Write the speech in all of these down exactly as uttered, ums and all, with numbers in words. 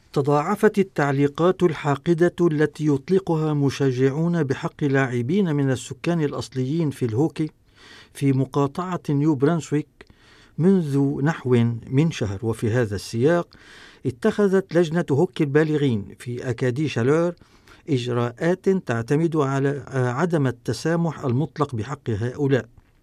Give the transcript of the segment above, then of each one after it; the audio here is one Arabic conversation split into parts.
تضاعفت التعليقات الحاقدة التي يطلقها مشجعون بحق لاعبين من السكان الأصليين في الهوكي في مقاطعة نيو برانسويك منذ نحو من شهر. وفي هذا السياق اتخذت لجنة هوكي البالغين في أكادي شالور إجراءات تعتمد على عدم التسامح المطلق بحق هؤلاء.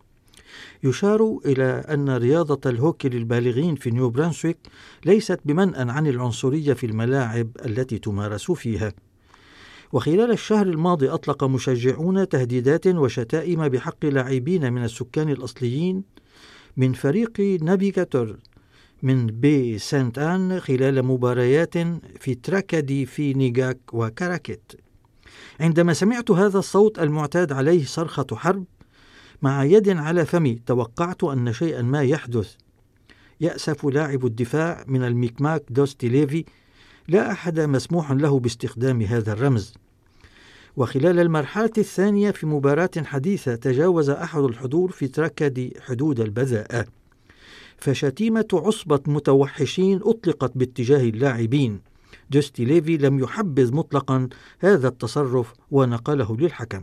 يشار إلى أن رياضة الهوكي للبالغين في نيو برانسويك ليست بمنأى عن العنصرية في الملاعب التي تمارس فيها. وخلال الشهر الماضي أطلق مشجعون تهديدات وشتائم بحق لاعبين من السكان الأصليين من فريق نافيغاتور من بي سانت آن خلال مباريات في تراكادي في نيغاك وكاراكيت. عندما سمعت هذا الصوت المعتاد عليه صرخة حرب مع يد على فمي، توقعت أن شيئا ما يحدث. يأسف لاعب الدفاع من الميكماك دوستي ليفي، لا أحد مسموح له باستخدام هذا الرمز. وخلال المرحلة الثانية في مباراة حديثة تجاوز أحد الحضور في تراكادي حدود البذاءة، فشتيمة عصبة متوحشين أطلقت باتجاه اللاعبين. دوستي ليفي لم يحبذ مطلقا هذا التصرف ونقله للحكم.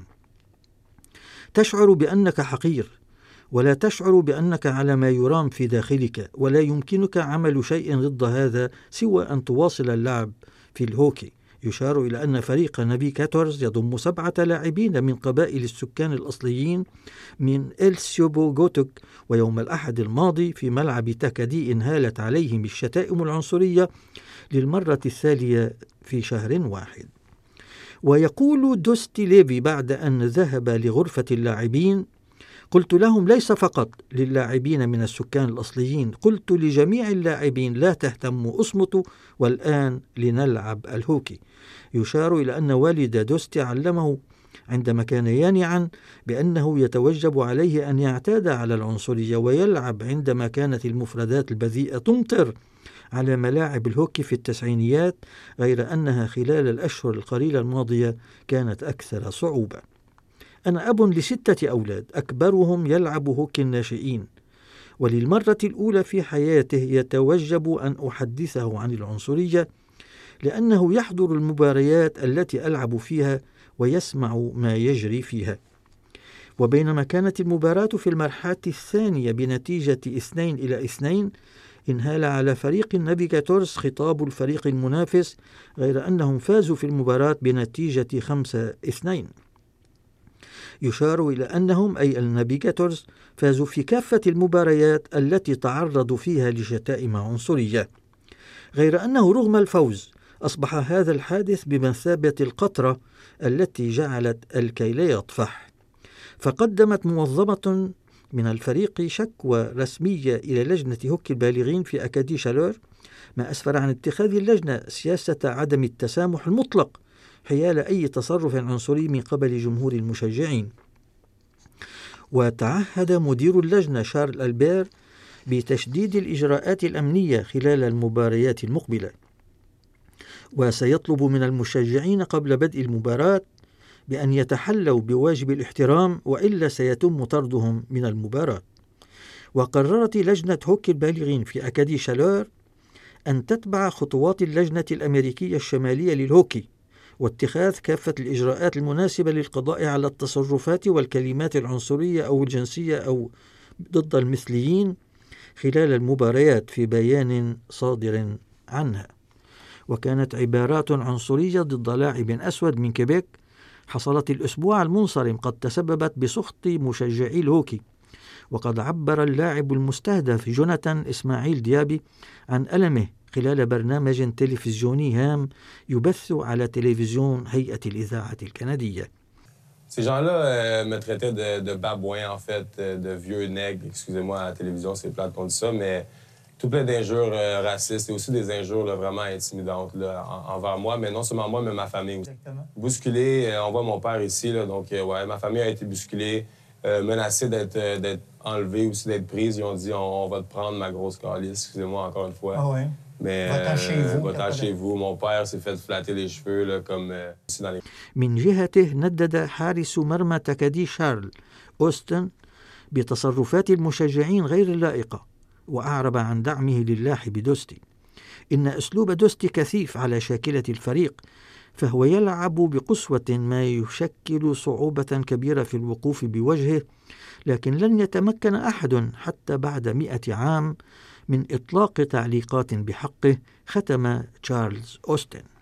تشعر بأنك حقير، ولا تشعر بأنك على ما يرام في داخلك، ولا يمكنك عمل شيء ضد هذا سوى أن تواصل اللعب في الهوكي. يشار إلى أن فريق نافيغاتورز يضم سبعة لاعبين من قبائل السكان الأصليين من إلسيوبو غوتوك، ويوم الأحد الماضي في ملعب تاكادي انهالت عليهم الشتائم العنصرية للمرة الثانية في شهر واحد. ويقول دوستي ليفي بعد أن ذهب لغرفة اللاعبين: قلت لهم ليس فقط للاعبين من السكان الأصليين، قلت لجميع اللاعبين لا تهتموا، اصمتوا والآن لنلعب الهوكي. يشار إلى أن والد دوستي علمه عندما كان يانعا بأنه يتوجب عليه أن يعتاد على العنصرية ويلعب عندما كانت المفردات البذيئة تمطر على ملاعب الهوكي في التسعينيات، غير أنها خلال الأشهر القليلة الماضية كانت أكثر صعوبة. أنا أب لستة أولاد، أكبرهم يلعب هوكي الناشئين، وللمرة الأولى في حياته يتوجب أن أحدثه عن العنصرية، لأنه يحضر المباريات التي ألعب فيها ويسمع ما يجري فيها. وبينما كانت المباراة في المرحلة الثانية بنتيجة اثنين إلى اثنين، انهال على فريق نافيغاتورز خطاب الفريق المنافس، غير أنهم فازوا في المباراة بنتيجة خمسة اثنين. يشار إلى أنهم أي النافيغاتورز فازوا في كافة المباريات التي تعرضوا فيها لشتائم عنصرية، غير أنه رغم الفوز أصبح هذا الحادث بمثابة القطرة التي جعلت الكيل يطفح. فقدمت منظمة من الفريق شكوى رسمية إلى لجنة هوكي البالغين في أكادي شالور، ما أسفر عن اتخاذ اللجنة سياسة عدم التسامح المطلق حيال أي تصرف عنصري من قبل جمهور المشجعين. وتعهد مدير اللجنة شارل ألبير بتشديد الإجراءات الأمنية خلال المباريات المقبلة، وسيطلب من المشجعين قبل بدء المباراة بأن يتحلوا بواجب الاحترام، وإلا سيتم طردهم من المباراة. وقررت لجنة هوكي البالغين في أكادي شالور أن تتبع خطوات اللجنة الأمريكية الشمالية للهوكي، واتخاذ كافة الإجراءات المناسبة للقضاء على التصرفات والكلمات العنصرية أو الجنسية أو ضد المثليين خلال المباريات في بيان صادر عنها. وكانت عبارات عنصرية ضد لاعب أسود من كيبيك حصلت الأسبوع المنصرم قد تسببت بسخط مشجعي الهوكي. وقد عبر اللاعب المستهدف جوناثان إسماعيل ديابي عن ألمه خلال برنامج تلفزيوني هام يبث على تلفزيون هيئة الإذاعة الكندية. Ces gens-là euh, me traitaient de, de babouin, en fait, de vieux nègre. Excusez-moi, à la télévision, c'est plate qu'on dit ça, mais tout plein d'injures euh, racistes et aussi des injures là, vraiment intimidantes là, en, envers moi, mais non seulement moi, mais ma famille. Exactement. Bousculé, euh, on voit mon père ici, là, donc euh, ouais, ma famille a été bousculée, euh, menacée d'être euh, d'être enlevée aussi, d'être prise. Ils ont dit on, on va te prendre, ma grosse calice, excusez-moi encore une fois. Ah ouais. Mais va-t'en chez vous. Va-t'en chez vous. Mon père s'est fait flatter les cheveux là, comme euh, ici dans les... من جهته ندد حارس مرمى تاكادي شارل أوستن بتصرفات المشجعين غير اللائقة، وأعرب عن دعمه للاعب دوستي. إن أسلوب دوستي كثيف على شاكلة الفريق، فهو يلعب بقسوة ما يشكل صعوبة كبيرة في الوقوف بوجهه، لكن لن يتمكن أحد حتى بعد مئة عام من إطلاق تعليقات بحقه، ختم تشارلز أوستن.